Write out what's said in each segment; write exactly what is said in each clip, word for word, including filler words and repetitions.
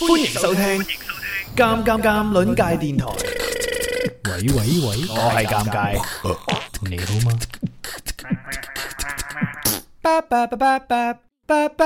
歡迎收聽《尷尷尷》鄰界電台。 喂喂喂， 我係尷尬， 你好嗎？ 巴巴巴巴巴巴巴。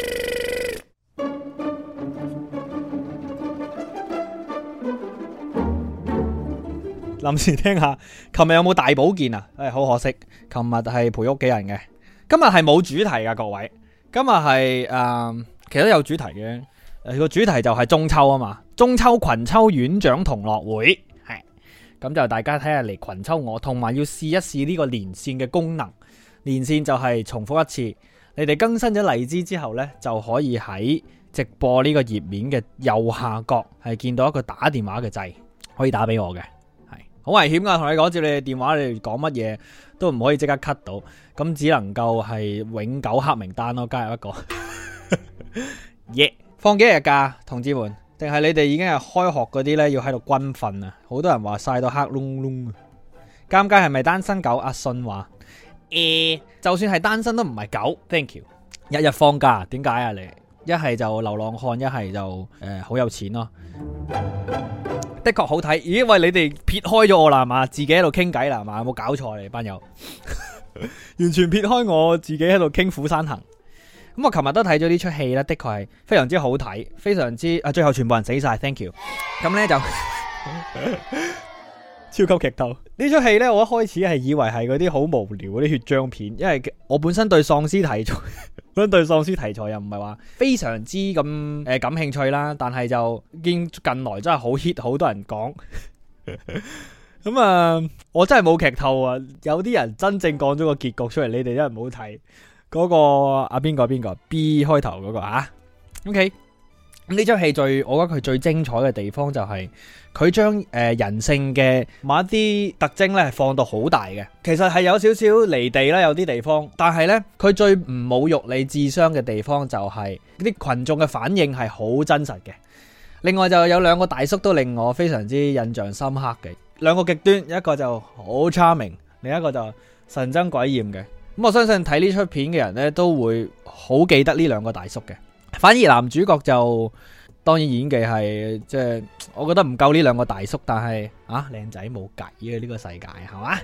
臨時聽下，琴日有冇大保健啊？誒、哎，好可惜，琴日係陪屋企人嘅。今日係冇主題噶，各位。今日係誒，其實都有主題嘅。誒，個主題就係中秋啊嘛，中秋群秋院長同樂會係。咁就大家睇下嚟群秋我，同埋要試一試呢個連線嘅功能。連線就係重複一次，你哋更新咗荔枝之後呢，就可以喺直播呢個頁面嘅右下角係見到一個打電話嘅掣，可以打俾我嘅。好危險噶，同你講，接你哋電話，你哋講乜嘢都唔可以即刻 cut 到，咁只能夠係永久黑名單咯，加入一個。耶、yeah. 放幾日假，同志們？定係你哋已經係開學嗰啲呢？要喺度軍訓啊？好多人話曬到黑窿窿啊！尷尬係咪單身狗？阿信話：誒、欸，就算係單身都唔係狗。Thank you。日日放假，點解啊？你一係就流浪漢，一係就誒好、呃、有錢咯。的確好睇，咦？喂，你哋撇開咗我啦，係嘛？自己喺度傾偈啦，係嘛？有冇搞錯你班友？完全撇開我自己喺度傾《釜山行》。咁我琴日都睇咗呢出戲咧，的確係非常之好睇，非常之啊！最後全部人死晒 ，thank you。咁咧就超級劇透呢出戲咧，我一開始係以為係嗰啲好無聊嗰啲血漿片，因為我本身對喪屍題材，本身對喪屍題材又唔係話非常之咁誒感興趣啦。但係就見近來真係好 hit， 好多人講。咁啊，我真係冇劇透啊！有啲人真正講咗個結局出嚟，你哋真係唔好睇。嗰、那個啊邊個邊個 B 開頭嗰、那個啊 ，OK。咁呢出戲最，我覺得佢最精彩嘅地方就係佢將誒人性嘅某一啲特徵咧係放到好大嘅。其實係有少少離地啦，有啲地方，但係咧佢最唔侮辱你智商嘅地方就係啲群眾嘅反應係好真實嘅。另外就有兩個大叔都令我非常之印象深刻嘅，兩個極端，一個就好 charming， 另一個就神憎鬼厭嘅。咁我相信睇呢出片嘅人咧都會好記得呢兩個大叔嘅。反而男主角就當然演技係即係，我覺得唔夠呢兩個大叔，但係啊靚仔冇計嘅呢個世界係嘛？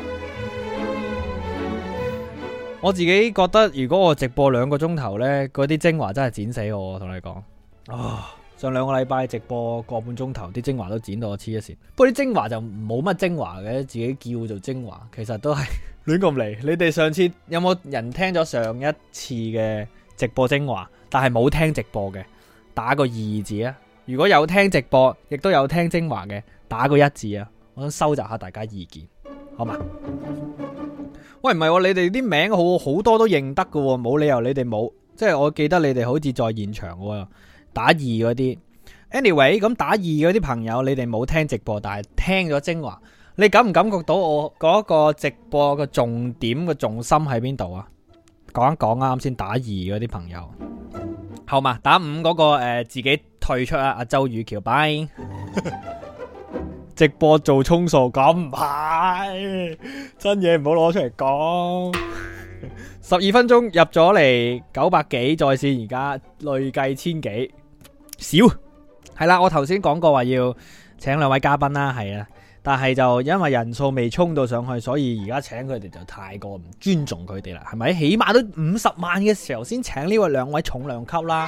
我自己覺得如果我直播兩個鐘頭呢，嗰啲精華真係剪死我，我同你講啊、哦！上兩個禮拜直播個半鐘頭，啲精華都剪到我黐一線。不過啲精華就冇乜精華嘅，自己叫做精華，其實都係亂咁嚟。你哋上次有冇人聽咗上一次嘅直播精華，但係冇聽直播嘅，打個二字啊！如果有聽直播，亦都有聽精華嘅，打個一字啊！我想收集下大家意見，好嘛？喂，唔係喎，你哋啲名好好多都認得㗎喎，冇理由你哋冇。即係我記得你哋好似在現場喎，打二嗰啲。Anyway， 咁打二嗰啲朋友，你哋冇聽直播，但係聽咗精華，你感唔感覺到我嗰個直播嘅重點嘅重心喺邊度啊？講一講啱先打二嗰啲朋友，好嘛？打五嗰、那個誒、呃、自己退出啊！阿周雨橋拜直播做充數，咁唔係真嘢，唔好攞出嚟講。十二分鐘入咗嚟九百幾在線，而家累計千幾，少係啦。我頭先講過話要請兩位嘉賓啦，係啊。但係就因為人數未衝到上去，所以而家請佢哋就太過唔尊重佢哋啦，係咪？起碼都五十萬嘅時候先請呢位兩位重量級啦。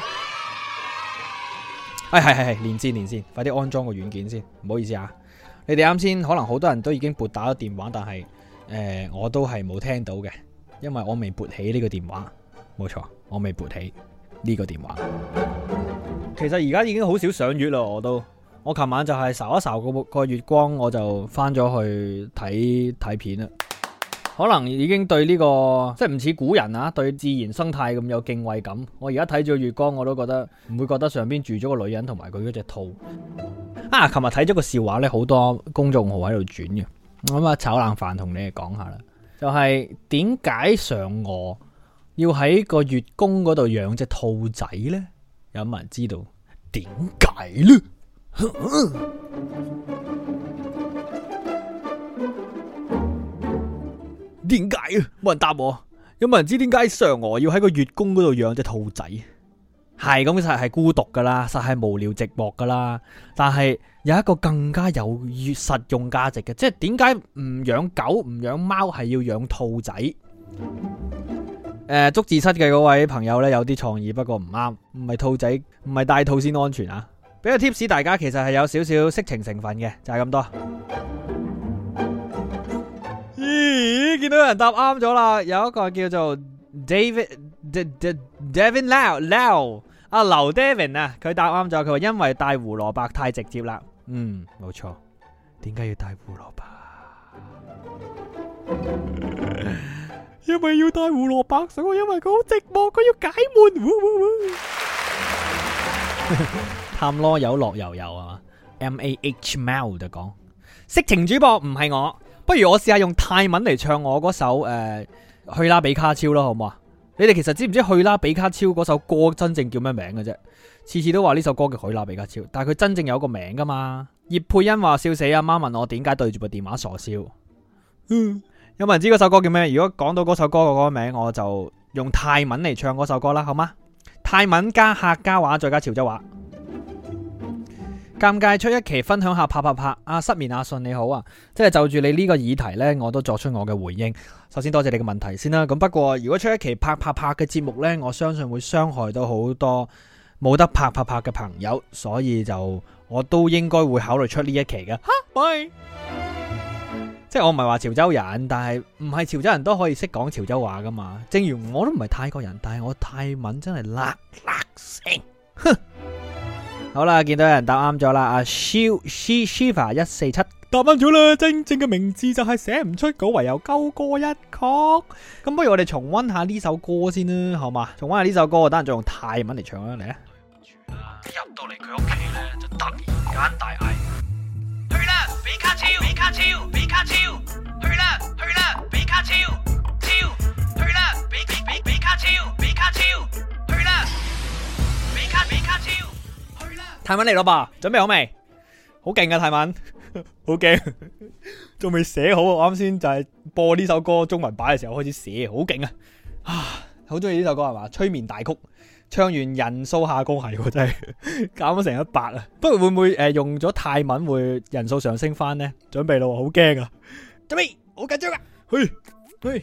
哎，係係係，連線連線，快啲安裝個軟件先。唔好意思啊，你哋啱先可能好多人都已經撥打咗電話，但係誒、呃、我都係冇聽到嘅，因為我未撥起呢個電話。冇錯，我未撥起呢個電話。其實而家已經好少上月啦，我都。我琴晚就係睄一睄個個月光，我就翻咗去睇睇片啦。可能已經對呢、這個即係唔似古人啊，對自然生態咁有敬畏感。我而家睇住月光，我都覺得唔會覺得上邊住咗個女人同埋佢嗰隻兔。啊，琴日睇咗個笑話咧，好多公眾號喺度轉嘅。咁啊，炒冷飯同你哋講下啦，就係點解嫦娥要喺個月宮嗰度養隻兔仔呢？有冇人知道點解呢？點解啊？冇人答我。有冇人知點解嫦娥要喺個月宮嗰度養隻兔仔？ 係咁實係孤獨噶啦，實係無聊寂寞噶啦。但係有一個更加有實用價值嘅，即係點解唔養狗唔養貓係要養兔仔？誒、呃，捉字蝨嘅嗰位朋友呢，有啲創意，不過唔啱，唔係兔仔，唔係帶兔先安全啊！俾個 tips 大家，其實係有少少色情成分嘅，就係、是、咁多。咦，見到有人答啱咗啦，有一個叫做 David Devin Lau Lau 阿劉 Devin 啊，佢答啱咗，佢話因為帶胡蘿蔔太直接啦。嗯，冇錯。點解要帶胡蘿蔔？因為要帶胡蘿蔔，所以因為佢好寂寞，佢要解悶。呼呼呼探囉有樂悠悠啊 ，M A H 貓就講色情主播唔係我，不如我試下用泰文嚟唱我嗰首誒、呃、去啦比卡超咯，好唔好啊？你哋其實知唔知去啦比卡超嗰首歌真正叫咩名嘅啫？次次都話呢首歌叫去啦比卡超，但係佢真正有個名噶嘛？葉佩欣話笑死，阿媽問我點解對住部電話傻笑。嗯，有冇人知嗰首歌叫咩？如果講到嗰首歌嘅嗰個名，我就用泰文嚟唱嗰首歌啦，好嗎？泰文加客家話再加潮州話。尷尬出一期分享下拍拍拍，阿、啊、失眠阿信你好啊，即係就住你呢個議題呢，我都作出我嘅回應。首先多謝你嘅問題先啦，咁不過如果出一期拍拍拍嘅節目呢，我相信會傷害到好多冇得拍拍拍嘅朋友，所以就我都應該會考慮出呢一期嘅。哈，喂，即係我唔係話潮州人，但係唔係潮州人都可以識講潮州話噶嘛。正如我都唔係泰國人，但係我泰文真係辣辣聲，哼。好啦，見到有人答啱咗啦，阿 Shiv Shiva 一四七答啱咗啦，正正嘅名字就係寫唔出稿，唯有鳩歌一曲。咁不如我哋重溫下呢首歌先啦，好嘛？重溫下呢首歌，我等陣再用泰文嚟唱啦，嚟啊！入到嚟佢屋企咧，就突然間大嗌：去啦，比卡超，比卡超，比卡超，去啦，去啦，比卡超，超，去啦，比比比比卡超，比卡超，去啦，比卡比卡超。泰文嚟咯噃，準備好未？好勁啊泰文，好勁，仲未寫好。我啱先就係播呢首歌中文版嘅時候開始寫，好勁啊！啊，好中意呢首歌係嘛？催眠大曲，唱完人數下降係喎，真係減咗成一百啊！不過會唔會誒、呃、用咗泰文會人數上升翻呢？準備咯，好驚啊！準備，好緊張啊！去去，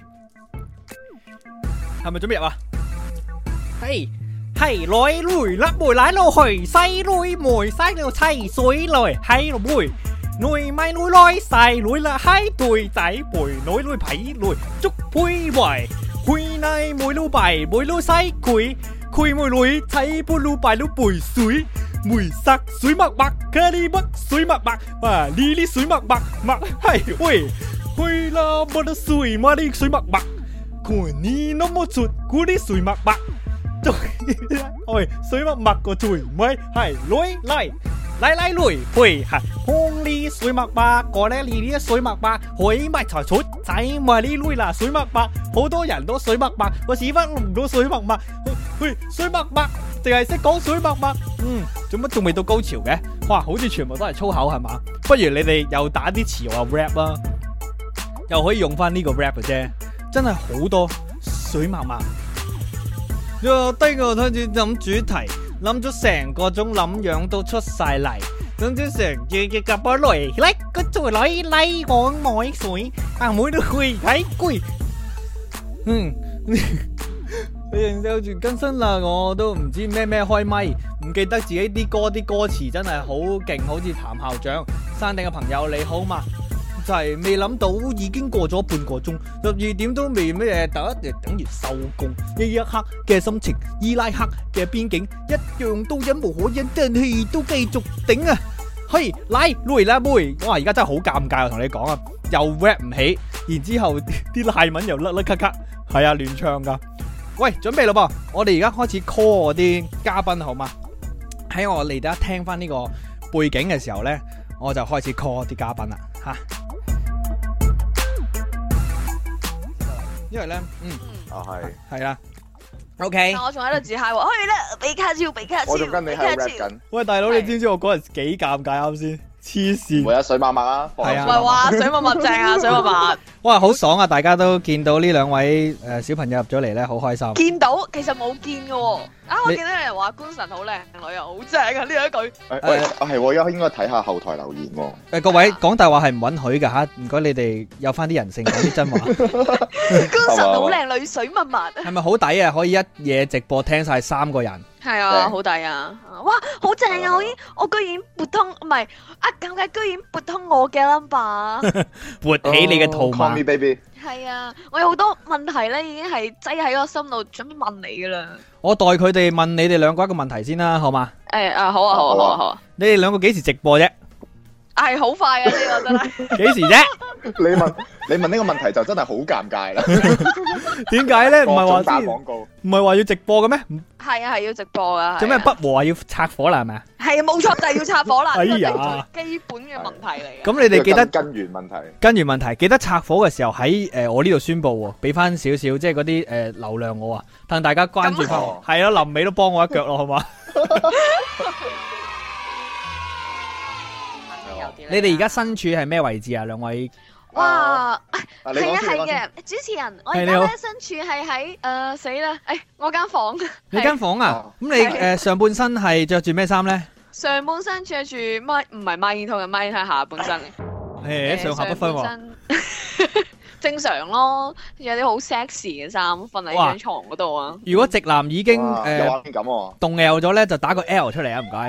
係咪準備入啊？係。係來來甩梅奶落去，細女梅細到砌水來，係落梅女咪女來細女啦，係對仔背女女皮女捉配圍，會奶梅女白梅女細佢，佢梅女砌杯女白女背水，梅sắc水墨墨，咖喱墨水墨墨，哇呢啲水墨墨墨係喂，會啦冇得水嘛啲水墨墨，佢呢都冇出嗰啲水墨墨。喂，水墨墨個嘴咪係女嚟嚟嚟女會係紅呢水墨墨個咧呢啲水墨墨可以咪才出仔咪呢女啦水墨墨好多人都水墨墨個屎忽唔到水墨墨喂水墨墨淨係識講水墨墨嗯做乜仲未到高潮嘅哇好似全部都係粗口係嘛不如你哋又打啲詞話 rap 啦又可以用翻呢個 rap 嘅啫真係好多水墨墨。我低個開始諗主題，諗咗成個鐘，諗樣都出晒嚟，諗咗成日嘅夾波來，嚟個嘴來嚟我愛水，阿妹都會睇攰。嗯，你哋收住更新啦，我都唔知咩咩開咪，唔記得自己啲歌啲歌詞真係好勁，好似譚校長。山頂嘅朋友你好嘛？就係未諗到已經過咗半個鐘，十二點都未咩嘢，第一日等於收工。呢一刻嘅心情，伊拉克嘅邊境一樣都忍無可忍，但係都繼續頂啊！嘿，嚟來啦妹，我話而家真係好尷尬，我同你講啊，又 rap 唔起，然之後啲泰文又甩甩咳咳，係啊亂唱噶。喂，準備咯噃，我哋而家開始 call 我啲嘉賓好嘛？喺我嚟得聽翻呢個背景嘅時候咧，我就開始 call 啲嘉賓啦，吓。因為咧，嗯，啊係，係啦 ，OK。 我仲喺度自嗨喎，去啦，比卡超，比卡超， 我仲跟你喺度 rap 緊。 喂，大佬，你知唔知我嗰日幾尷尬啱先？ 黐線。 會有水默默啊， 係啊唔係話水默默正啊，水默默哇，好爽啊！大家都見到呢兩位誒小朋友入咗嚟咧，好開心。 見到，其實冇見嘅喎。啊，我你見到有人話官神好靚女啊，好正啊！呢一句誒喂，啊係喎，應該睇下後台留言喎。 誒各位講大話係唔允許㗎嚇，唔該你哋有翻啲人性，講啲真話。 官神好靚女，水默默。 係咪好抵啊？可以一夜直播聽晒三個人。 係啊，好抵啊！哇，好正啊！我已經我居然撥通，唔係啊，咁嘅居然撥通我嘅 number。 撥起你嘅套 Call me 碼。 baby。 係啊，我有好多問題咧，已經係擠喺個心度，準備問你噶啦。 我代佢哋問你哋兩個一個問題先啦，好嘛？ 誒啊，好啊，好啊，好啊，好啊。 你哋兩個幾時直播啫？ 係好快啊！呢個真係。 幾時啫？ 你問你問呢個問題就真係好尷尬啦。 點解咧？唔係話各種打之前廣告。 唔係話要直播嘅咩？ 係啊，係要直播噶。 做咩不和啊？要拆火啦係咪啊？ 係啊，冇錯，就係要插火啦。 哎呀呢個係最基本嘅問題嚟嘅。 咁你哋記得根根源問題。 跟住問題，記得拆火嘅時候喺誒我呢度宣佈喎，俾翻少少即係嗰啲誒流量我啊，等大家關注翻我。係咯，臨尾都幫我一腳咯，好嘛？你哋而家身處係咩位置啊？兩位哇， 啊你係啊講先你講係嘅，主持人，我係你好而家咧身處係喺誒死啦，誒我間房， 你間房啊？ 哦咁你係誒上半身係着住咩衫咧？ 上半身着住咪唔係孖煙筒嘅孖煙係下半身嘅， 誒上下不分喎。 上半身正常咯，有啲好 sexy 嘅衫瞓喺哇張床嗰度啊。 如果直男已經誒哇有畫面感喎。 動搖咗咧，就打個 L 出嚟啊！唔該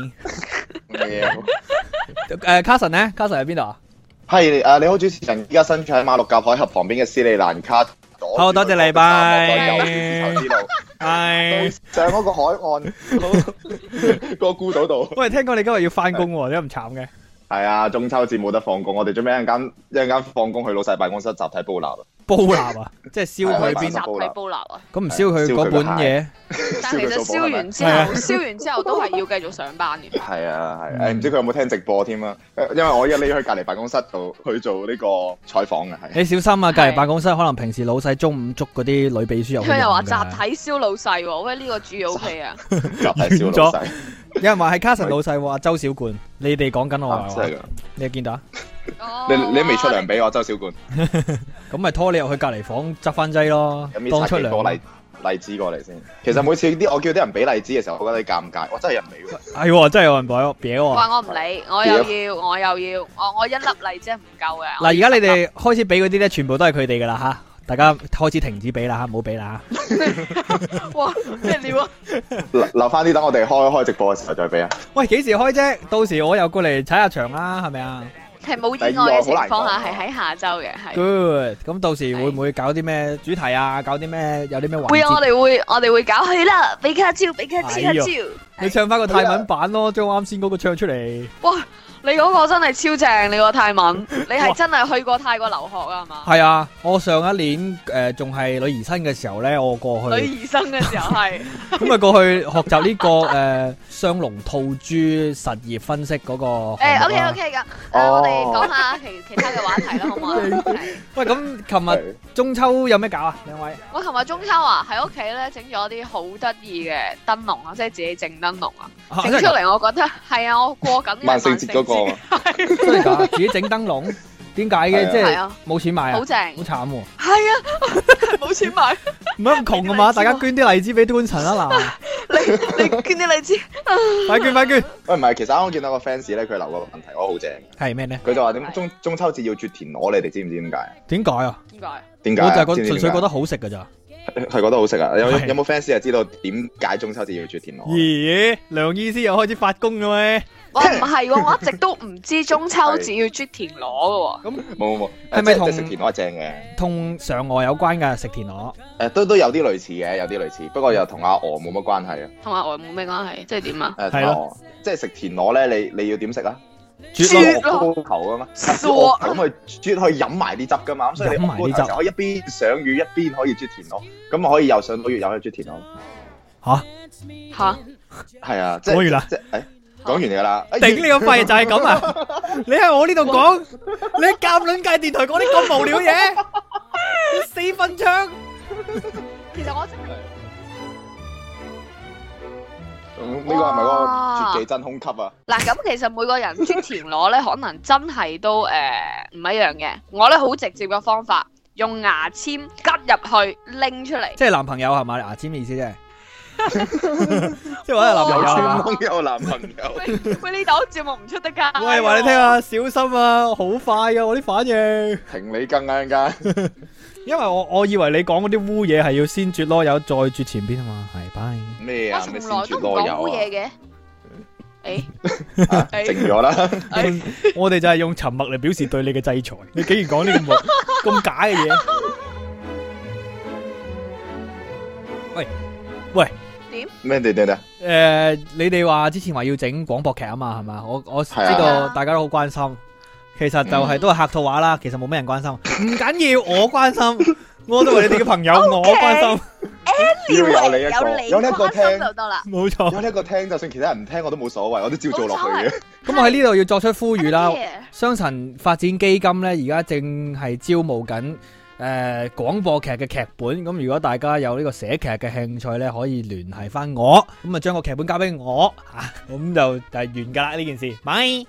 ，bye。 咩啊誒，Carson 咧，Carson 喺邊度啊？ 係誒，你好，主持人，依家身處喺馬六甲海峽旁邊嘅斯里蘭卡。 好多謝你拜有絲綢之路。 係。 上嗰個海岸個孤島度。 喂，聽講你今日要翻工喎，點解咁慘嘅？ 係啊，中秋節冇得放工，我哋準備一陣間一陣間放工去老細辦公室集體煲蠟啊！ 煲蠟啊，即係燒佢邊？ 係啊集體煲蠟啊！ 咁唔燒佢嗰本嘢？ 但其實燒完之後，燒完之後都係要繼續上班嘅。 係啊係，誒唔知佢有冇聽直播添啊？因為我一匿去隔離辦公室度去做呢個採訪嘅，係。 你小心啊！隔離辦公室可能平時老細中午捉嗰啲女秘書入去。 佢又話集體燒老細喎，喂呢個主意 O K 啊！ 集體燒老細。 有人話係 Carson 老細喎，周小冠，你哋講緊我係嘛？ 真係㗎！ 你有見到啊？ 你你都未出糧俾我，周小冠。 咁咪拖你入去隔離房執翻劑咯， 有當出糧。 冇個荔荔枝過嚟先？其實每次啲我叫啲人俾荔枝嘅時候，我覺得啲尷尬，我真係人俾喎。 係喎，真係有人俾我俾我。 話我唔理，我又要，我又要，我我一粒荔枝唔夠嘅。 嗱，而家你哋開始俾嗰啲咧，全部都係佢哋噶啦吓，大家開始停止俾啦吓，唔好俾啦吓。 哇，咩料啊？ 留留翻啲等我哋開開直播嘅時候再俾啊！ 喂，幾時開啫？到時我又過嚟踩下場啦，係咪啊係冇意外嘅情況下，係喺下週嘅，係。 ？Good，咁到時會唔會搞啲咩主題啊？搞啲咩？有啲咩環會啊！我節？ 哋會，我哋會搞去啦，比卡超，比卡超， 哎呀超。 你唱翻個泰文版咯，將啱先嗰個唱出嚟。 哇！你嗰個真係超正，你個泰文，你係真係去過泰國留學啊？係嘛？ 係啊，我上一年誒仲係女兒身嘅時候咧，我過女去兒生嘅時候係。 咁啊過去學習呢個誒雙龍吐珠實業分析嗰個項誒，OK 目啦。 OK 噶，誒， 哦我哋講下其其他嘅話題啦，好唔好啊？係喂，咁琴日中秋有咩搞啊？兩位？ 我琴日中秋啊，喺屋企咧整咗啲好得意嘅燈籠啊，即係自己整燈籠啊， 啊整出嚟我覺得係啊，我過緊嘅萬聖節嗰個係真係㗎，自己整燈籠，點解嘅？即係係啊， 冇錢買啊， 好正， 好慘喎！ 係啊，冇錢買， 唔係咁窮啊嘛，大家捐啲荔枝俾端陳啊嗱， 你你捐啲荔枝， 快捐快捐！ 喂，唔係，其實啱啱見到個 fans 咧，佢留個問題，我好正。 係咩咧？ 佢就話點中中秋節要啜田螺，你哋知唔知點解啊？ 點解啊？ 點解？ 點解啊？ 我就係覺知唔知點解純粹覺得好食㗎咋。 係覺得好食啊！有係有冇 fans 係知道點解中秋節要啜田螺？ 咦，梁醫師又開始發功嘅咩？ 我唔係喎，我一直都唔知中秋節要啜田螺嘅喎。 咁冇冇冇， 係咪同即係食田螺係正嘅？ 同嫦娥有關㗎？食田螺誒都都有啲類似嘅，有啲類似，不過又同阿鵝冇乜關係啊。 同阿我冇咩關係，即係點啊？ 誒係咯， 即係食田螺咧，你你要點食啊？ 啜咯鵝高球啊嘛， 傻咁去啜可以飲埋啲汁噶嘛，咁所以你飲埋啲汁鵝高球可以一邊上魚一邊可以啜田螺，咁啊可以又上到月又可以啜田螺。 吓？ 吓？ 係啊，即係講完啦即係誒講完㗎啦。哎頂你個肺就係咁啊！你喺我呢度講，你喺夾卵界電台講啲咁無聊嘢，你四分槍。 其實我真係。 咁呢個係咪嗰個絕技真空級啊？ 嗱，咁其實每個人啜田螺咧，可能真係都誒唔一樣嘅。我咧好直接嘅方法，用牙籤吉入去拎出嚟。 即係男朋友係嘛？牙籤嘅意思啫。即係話係男朋友係嘛？ 有有男朋友。 喂，呢檔節目唔出得街。 喂，話你聽下，小心啊，好快噶我啲反應。 停你更啊！陣間。 因為我我以為你講嗰啲污嘢係要先啜囉柚再啜前邊啊嘛，係拜。 咩啊？ 我從來都唔講污嘢嘅。誒， 靜咗啦。 我哋就係用沉默嚟表示對你嘅制裁。你竟然講呢咁咁假嘅嘢？喂喂， 點？ 咩點點點？ 誒，你哋話之前話要整廣播劇啊嘛，係嘛？我我知道大家都好關心。其實就係都係客套話啦，其實冇咩人關心，唔緊要，我關心，我都係你哋嘅朋友，我關心。 要有你一個，有你一個聽就得啦。 冇錯， 有你一個聽，就算其他人唔聽我都冇所謂，我都照做落去嘅。 咁我喺呢度要作出呼籲啦，雙層發展基金咧，而家正係招募緊誒廣播劇嘅劇本。咁如果大家有呢個寫劇嘅興趣咧，可以聯繫翻我，咁啊將個劇本交俾我，吓咁就就係完噶啦呢件事。咪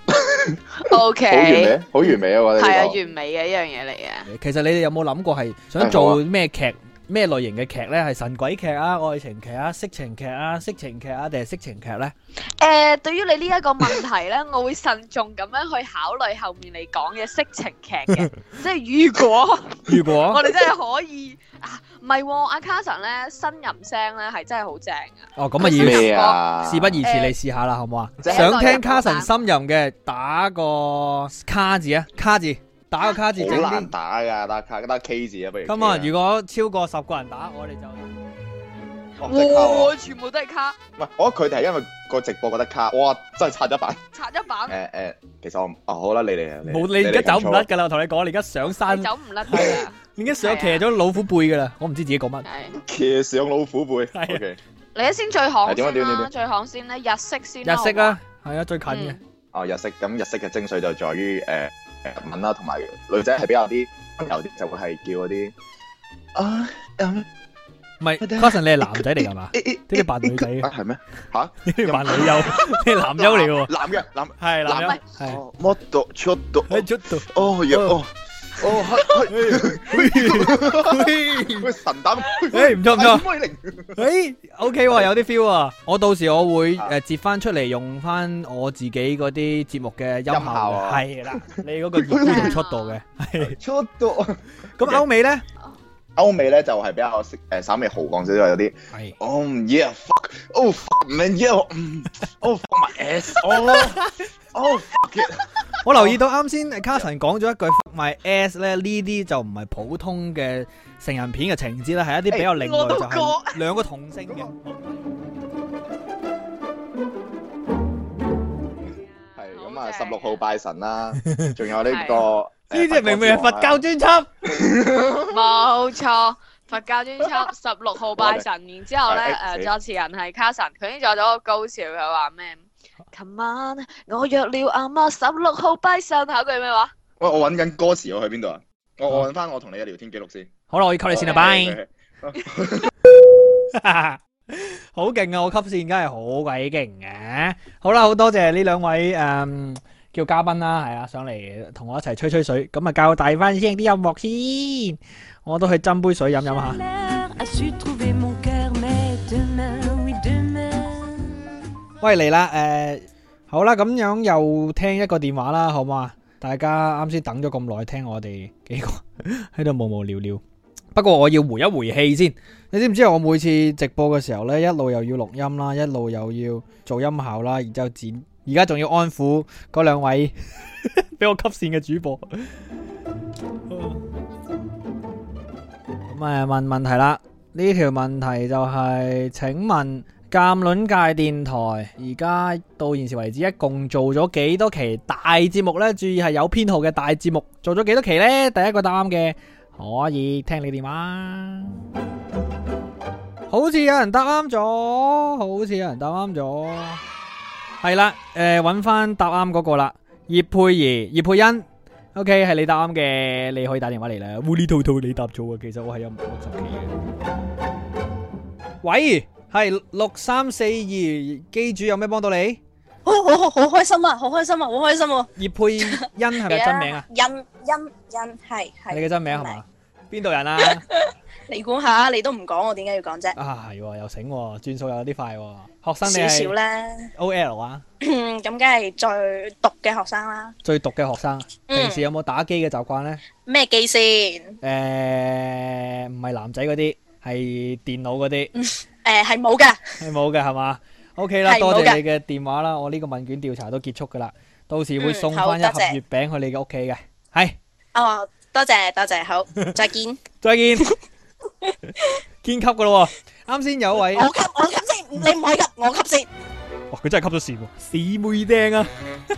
O K， 好完美，好完美啊！我哋係啊，完美嘅一樣嘢嚟嘅。 其實你哋有冇諗過係想做咩劇？咩類型嘅劇咧？係神鬼劇啊、愛情劇啊、色情劇啊、色情劇啊，定係色情劇咧？ 誒，對於你呢一個問題咧，我會慎重咁樣去考慮後面你講嘅色情劇嘅，即係如果如果我哋真係可以啊，唔係喎，阿 Carson 咧呻吟聲咧係真係好正啊！ 哦，咁啊要咩啊？ 事不宜遲，你試下啦，好唔好啊？ 即係想聽 Carson 呻吟嘅，打個卡字啊，卡字。打個卡字整好難啲。 打噶，打卡打 K 字啊，不如。 咁啊，如果超過十個人打，我哋就哦即係卡喎哇，全部都係卡， 唔係，我覺得佢哋係因為個直播覺得卡，哇，真係刷咗版。 刷一版， 誒誒，其實我哦好啦，你哋啊， 冇你而家走唔甩噶啦，我同你講，你而家上山你，走唔甩㗎。 你而家上騎咗老虎背噶啦，我唔知自己講乜。 係， 騎上老虎背。 係啊 OK， 你一先最行係點啊先啦， 點啊點啊最行先咧，日式先啦。 日式啦，係啊，最近嘅。 哦日式，咁日式嘅精髓就在於誒誒日文啦，同埋女仔係比較啲溫柔啲，就會係叫嗰啲啊嗯。 唔係，Carson 你係男仔嚟㗎嘛？呢啲扮女仔嘅， 啊係咩？嚇？ 呢啲扮女優，你係男優嚟嘅喎。 男嘅男。 係男優男， 係。 哦，もっとちょっと。 喺出度。 哦呀哦。哦係係。喂神膽。 誒唔錯唔錯。 威靈。 誒 OK 喎，有啲 feel 啊！我到時我會誒截翻出嚟用翻我自己嗰啲節目嘅音效音效嘅， 啊係啦，你嗰個熱度同速度嘅，係。 ちょっと。 咁歐美咧？ 歐美咧就係比較識誒稍微豪放少少，有啲。 係。 Oh yeah fuck oh fuck man yeah oh fuck my ass oh oh fuck it。 我留意到啱先 Carson 講咗一句 fuck my ass 咧，呢啲就唔係普通嘅成人片嘅情節啦，係一啲比較另類，就係兩個同性嘅。 係咁啊，十六號拜神啦，仲有呢個。 呢啲明明係佛教專輯。 冇錯，佛教專輯十六號拜神，然之後咧誒作詞人係 Carson，佢已經做咗個高潮，佢話咩？琴晚我約了阿媽十六號拜神，下句咩話？ 喂，我揾緊歌詞，我去邊度啊？我我揾翻我同你嘅聊天記錄先。 好啦，我要吸你線啦，拜。好勁啊！我吸線梗係好鬼勁嘅。好啦，好多謝呢兩位誒叫嘉賓啦，係啊，上嚟同我一齊吹吹水。咁啊，教大翻聲啲音樂先，我都去斟杯水飲飲下。喂，嚟啦，誒，好啦，咁樣又聽一個電話啦，好嘛？大家啱先等咗咁耐，聽我哋幾個喺度無無聊聊。不過我要回一回氣先，你知唔知我每次直播嘅時候呢，一路又要錄音啦，一路又要做音效啦，然之後剪，而家仲要安撫嗰兩位俾我吸線嘅主播。咁啊，問問題啦，呢條問題就係，請問鑑論界電台而家到現時為止，一共做咗幾多期大節目呢？注意係有編號嘅大節目，做咗幾多期呢？第一個答啱嘅可以聽你電話。好似有人答啱咗，好似有人答啱咗，係啦，誒，揾翻答啱嗰個啦，葉佩儀、葉佩欣 ，OK 係你答啱嘅，你可以打電話嚟啦。烏哩兔兔你答咗啊，其實我係有六十期嘅。喂係六三四二，機主有咩幫到你？ 好好好好開心啊！好開心啊！好開心喎！ 葉佩欣係咪真名啊？ 欣欣欣係係。 你嘅真名係嘛？邊度人啊？ 你估下，你都唔講，我點解要講啫？ 啊係喎，又醒喎，轉數有啲快喎。學生你少係少啦。 O L 啊？ 咁梗係最毒嘅學生啦。 最毒嘅學生， 嗯平時有冇打機嘅習慣咧？ 咩機先？ 誒，唔係男仔嗰啲，係電腦嗰啲， 誒係冇嘅。 係冇嘅係嘛？OK 啦， 係冇嘅多謝你嘅電話啦，我呢個問卷調查都結束噶啦，到時會送翻一盒嗯好多謝月餅去你嘅屋企嘅，係， 哦，多謝多謝，好，再見。 再見，堅級噶咯喎，啱先有位， 我吸我吸先，你唔可以吸，我吸先。 哇，佢真係吸咗線喎，死妹釘啊！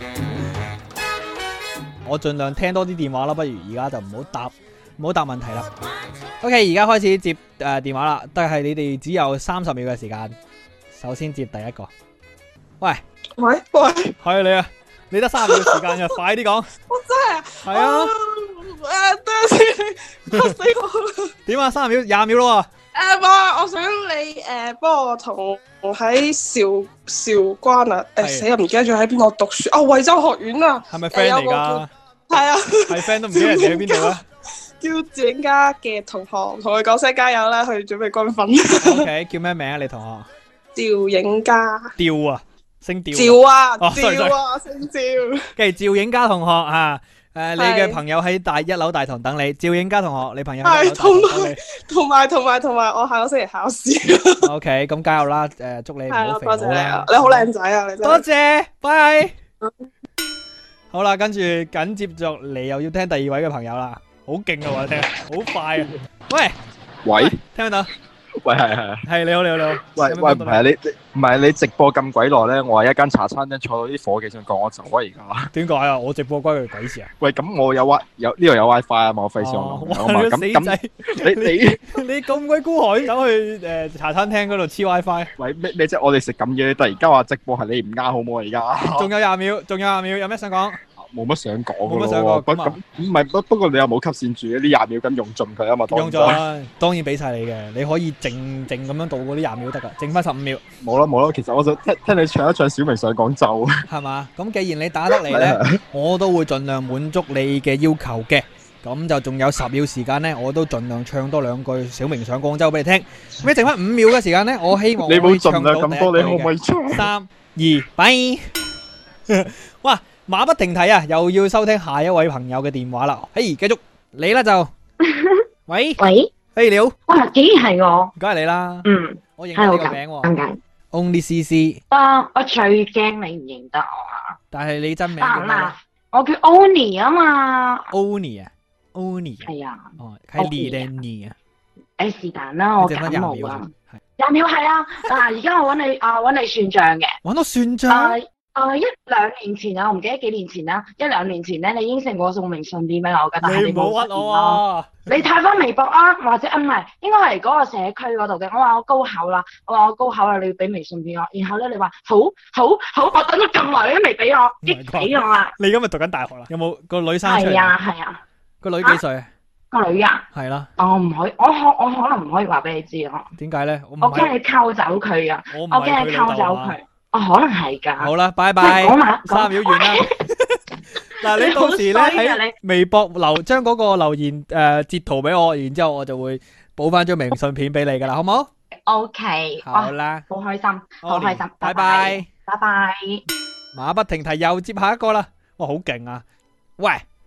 我盡量聽多啲電話啦，不如而家就唔好答，唔好答問題啦。OK， 而家開始接誒、呃、電話啦，但係你哋只有三十秒嘅時間。首先接第一個，喂喂喂， 係你啊，你得三十秒時間嘅，快啲講。 我真係係啊， 誒，等陣先，嚇死我！ 點啊？三十秒，廿秒咯誒，冇，我想你誒幫我同喺韶韶關啊， 係誒死啊，唔記得咗喺邊度讀書啊，惠州學院啊， 喎，係咪 friend 嚟有個㗎？ 係啊， 係 friend 都唔知人哋喺邊度啊叫趙影家嘅同學，同佢講聲加油啦，去準備軍訓。 ？OK，叫咩名啊？你同學？ 趙影家， 趙啊，姓趙啊。 趙啊， 哦，sorry， 趙啊，姓趙。 跟住趙影家同學啊，誒，你嘅係朋友喺大一樓大堂等你。趙影家同學，你朋友喺一樓大係同堂等你。 同埋同埋同埋，我下個星期考試。 OK，咁加油啦！誒，祝你唔係啊， 好肥多謝你啊佬啦！。 你好靚仔啊，你真多係。 謝，拜。好啦，跟住緊接着嚟又要聽第二位嘅朋友啦，好勁啊！我聽，好快啊！喂， 喂聽唔聽到？ 喂，係係係， 係你好，你好，你好。 喂喂， 有咩幫到唔係啊，你你唔係你直播咁鬼耐咧，我喺一間茶餐廳坐到啲伙計想趕我走啊！而家， 點解啊？我直播關佢鬼事啊？ 喂，咁我有 wi 有呢度有 WiFi 啊嘛，我費事我哦用啊嘛， 哇， 咁你個死仔！ 咁你你你咁鬼孤寒，走去誒茶餐廳嗰度黐 WiFi， 喂咩咩啫？我哋食咁嘢，突然間話直播係你唔啱好唔好啊？而家仲有廿秒，仲有廿秒，有咩想講？ 冇乜想講冇乜㗎咯喎，不想講咁啊咁唔係不不過你又冇吸線住呢廿秒咁用盡佢啊嘛，當用咗啦，當然俾晒你嘅，你可以靜靜咁樣度過啲廿秒得噶，剩翻十五秒， 冇啦冇啦，其實我想聽聽你唱一唱小明上廣州， 係嘛？咁既然你打得嚟呢，我都會盡量滿足你嘅要求嘅。咁就仲有十秒時間呢，我都盡量唱多兩句小明上廣州俾你聽。咁剩翻五秒嘅時間呢，我希望你我可以冇盡唱到量咁多，你可唔可以？ 以唱？ 三二，拜！哇！馬不停蹄啊，又要收聽下一位朋友嘅電話啦。嘿，繼續你啦就，喂， 喂， 嘿你好， 哇，竟然係我， 梗係你啦， 嗯， 我認得你個係好尷名喎尷尬。 ，Only C C， 啊，我最驚你唔認得我啊！ 但係你真名啊叫咩嗱，我叫 Oni 啊嘛， ？Oni 啊，Oni 啊， 係啊， 哦，係 Oni 你啊定你啊？ 誒是但啦，我剩翻感冒啊廿秒啫，，係廿秒係啊，嗱而家我揾你啊揾你算賬嘅， 揾到算啊賬， 啊一兩年前啊，我唔記得幾年前啦，一兩年前咧，你應承過送明信片俾我㗎，但係你你冇實現唔好屈我咯。 啊！ 你睇翻微博啊，或者啊唔係，應該係嗰個社區嗰度嘅。我話我高考啦，我話我高考啦，你要俾微信俾我。然後咧，你話好好好，我等咗咁耐你都未俾我，激死我啦！ 你今日讀緊大學啦？有冇個女生出嚟？ 係啊係啊， 個女幾歲啊？ 個女啊， 係啦， 我唔可以，我可我可能唔可以話俾你知咯， 點解咧？我唔我驚係你溝走佢啊， 我唔我驚係佢你溝走老豆啊！ 佢，我可能係㗎。 好啦，拜喂拜。 講埋三秒完啦。嗱，你到時咧你好衰啊喺微博留將嗰個留言誒截圖俾我，然之後我就會補翻張明信片俾你噶啦，好冇？ O K， 好啦， 好開心，好開心， 拜拜拜。 拜拜。 馬不停蹄又接下一個啦，哇，好勁啊！喂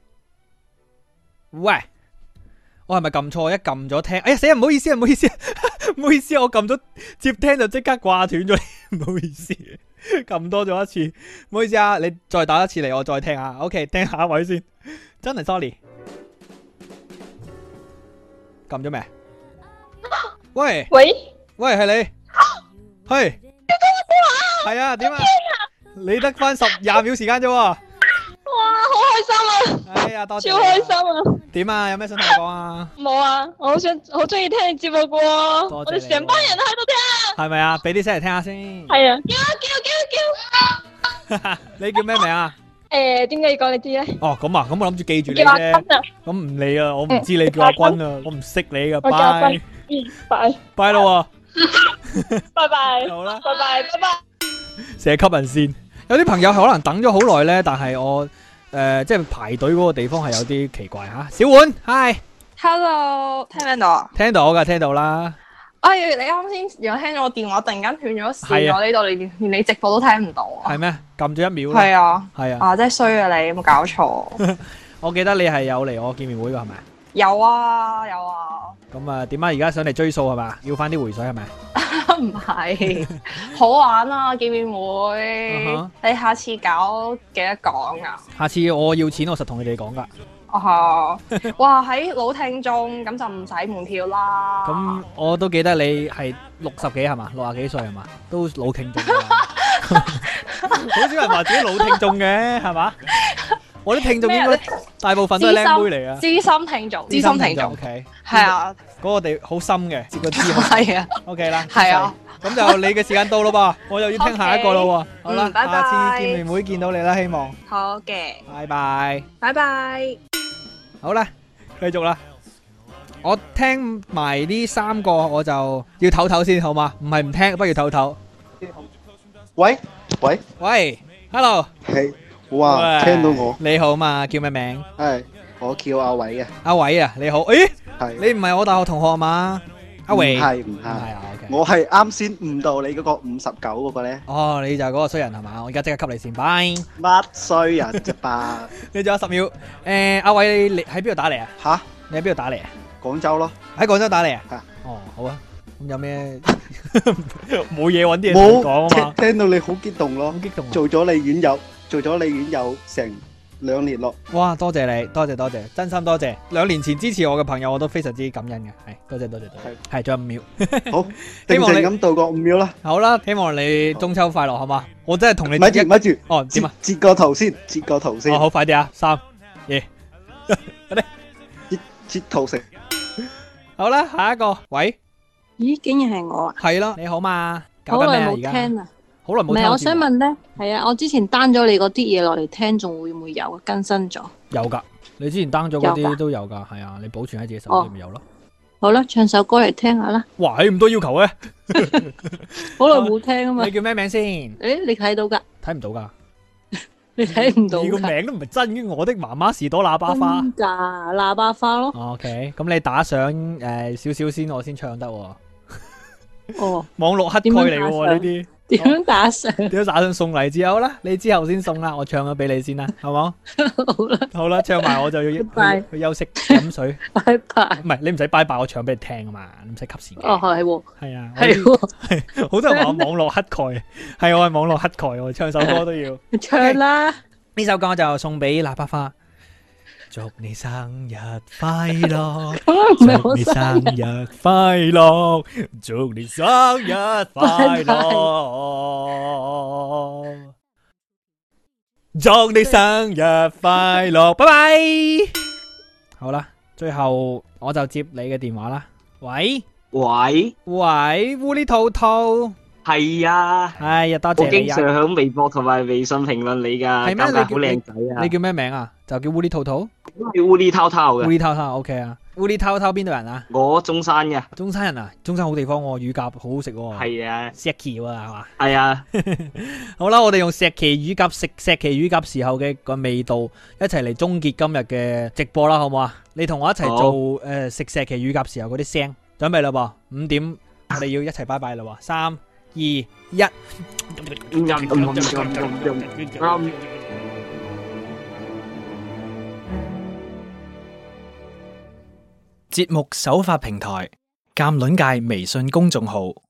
喂，我係咪撳錯？一撳咗聽，哎呀死啊！唔好意思啊，唔好意思啊，唔好意思啊，我撳咗接聽就即刻掛斷咗，唔好意思，撳多咗一次，唔好意思啊，你再打一次嚟，我再聽下。OK，聽下一位先，真係 sorry，撳咗未？喂喂， 喂，係你，係，係啊，點啊？你得翻十廿秒時間啫喎。 哇，好開心啊， 哎呀，多謝超你啊。 開心啊！ 點啊？有咩想同我講啊？ 冇啊，我好想好中意聽你節目嘅喎， 多謝我哋成班人都喺度聽。 係咪啊？俾啲聲嚟聽下先。 係啊，叫叫叫叫！ 你叫咩名啊？ 誒，點解要講你知咧？ 哦，咁啊，咁我諗住記住你叫阿啫。 君啊， 咁唔理啊，我唔知你叫阿君啊，我唔識你噶， 我叫阿拜君。嗯，拜。 拜咯喎。 拜拜， 好啦， 拜拜，拜拜。 成日吸人線。有啲朋友可能等咗好耐咧，但係我誒、呃、即係排隊嗰個地方係有啲奇怪嚇。小碗，hi， Hello，聽唔聽到啊？ 聽到㗎，聽到啦。 哎，你啱先如果聽咗我電話，突然間斷咗線， 係啊我呢度連連你直播都聽唔到啊！ 係咩？撳咗一秒啦。 係啊， 係啊。 啊，真係衰啊你，有冇搞錯？ 我記得你係有嚟我見面會㗎係咪？ 有啊，有啊。 咁啊點啊？而家想嚟追數係嘛？要翻啲回水係咪？ 唔係，好玩啊！見面會， 嗯哼你下次搞記得講啊！ 下次我要錢，我實同你哋講㗎。 哦，哇！喺老聽眾咁就唔使門票啦。 咁我都記得你係六十幾係嘛？六廿幾歲係嘛？都老聽眾㗎啦。好少人話自己老聽眾嘅係嘛？我啲聽眾應該大部分都係靚妹嚟啊！ 資深聽眾，資深聽眾 ，OK， 係啊， 嗰個地好深嘅，接個知好係啊 ，OK 啦， 係啊， 咁就你嘅時間到咯噃，我又要聽下一個咯喎，好啦， 嗯拜拜下次見面會見到你啦，希望， 好嘅， 拜拜， 拜拜。 好啦，繼續啦，我聽埋呢三個我就要唞唞先，好嘛？唔係唔聽，不如唞唞。 喂喂喂 ，Hello， 係，哇， 喂聽到我， 你好嘛？叫咩名？ 係，我叫阿偉嘅， 阿偉啊，你好，誒， 係， 你唔係我大學同學啊嘛？阿偉， 唔係唔係， 係啊，OK。 我係啱先誤導你嗰個五十九嗰個咧， 哦，你就係嗰個衰人係嘛？我而家即刻給你線，拜。 乜衰人啫吧？ 你仲有十秒。誒，阿偉，你喺邊度打嚟啊？ 吓？ 你喺邊度打嚟啊？ 廣州咯。 喺廣州打嚟啊？ 係。 哦，好啊。咁有咩？冇嘢揾啲嘢冇講啊嘛。 聽聽到你好激動咯， 好激動啊！ 做咗你院友，做咗你院友成兩年咯。 哇！多謝你，多謝多謝，真心多謝。兩年前支持我嘅朋友，我都非常之感恩嘅。係，多謝多謝多謝。係，仲有五秒。 好， 希望你定靜咁度過五秒啦。 好啦，希望你中秋快樂，好嘛？我真係同你咪住咪住， 哦，點啊？ 截個圖先，截個圖先。 哦，好，快啲啊！三、二，快啲， 截截圖食。 好啦，下一個，喂。 咦，竟然係我啊！ 係咯，你好嘛？搞好耐冇緊咩啊而家？ 聽啦， 好耐冇聽。 唔係，我想問咧，係啊，我之前 down 咗你嗰啲嘢落嚟聽，仲會唔會有更新咗？ 有㗎，你之前 down 咗嗰有㗎啲都有㗎，係啊，你保存喺自己手哦機咪有咯。 好啦，唱首歌嚟聽下啦。 哇，你咁多要求嘅， 好耐冇聽啊嘛。 你叫咩名先？ 誒，你睇到㗎？ 睇唔到㗎。 你睇唔到㗎？ 你個名都唔係真嘅，我的媽媽士多喇叭花。 真㗎，喇叭花咯。 OK，咁你打上誒少少先，我先唱得喎。 哦， 網絡乞丐嚟嘅喎呢啲。 點樣打上？ 點樣打上送禮之後啦？你之後先送啦，我唱咗俾你先啦，好冇？ 好啦， 好啦，唱埋我就要去拜去休息飲水。 拜拜。 唔係你唔使拜拜，我唱俾你聽啊嘛，你唔使吸線嘅。 哦，係喎。 係啊， 係喎。 係好多人話我網絡乞丐，係我係網絡乞丐，我唱首歌都要。 唱啦！ 呢首歌我就送俾喇叭花。祝你生日快樂，祝你生日快樂，祝你生日快樂，祝你生日快樂，拜拜。好啦，最後我就接你嘅電話啦。喂喂喂，烏哩兔兔。 係啊， 哎呀，多謝我經你啊！ 常響微博同埋微信評論你噶， 係咩？ 教教好靚仔啊！ 你叫咩名啊？就叫烏哩兔兔。 叫烏哩滔滔嘅。 烏哩滔滔 OK 啊。烏哩滔滔邊度人啊？ 我中山嘅。 中山人啊？中山好地方喎，乳鴿好好食喎。 係啊。 石岐喎係嘛？ 係啊。 好啦，我哋用石岐乳鴿食石岐乳鴿時候嘅個味道，一齊嚟終結今日嘅直播啦，好唔好啊？你同我一齊做誒食石岐乳鴿時候嗰啲聲，準備啦噃，五點我哋要一齊拜拜啦喎，三二一。 節目首發平台：鑑論界微信公眾號。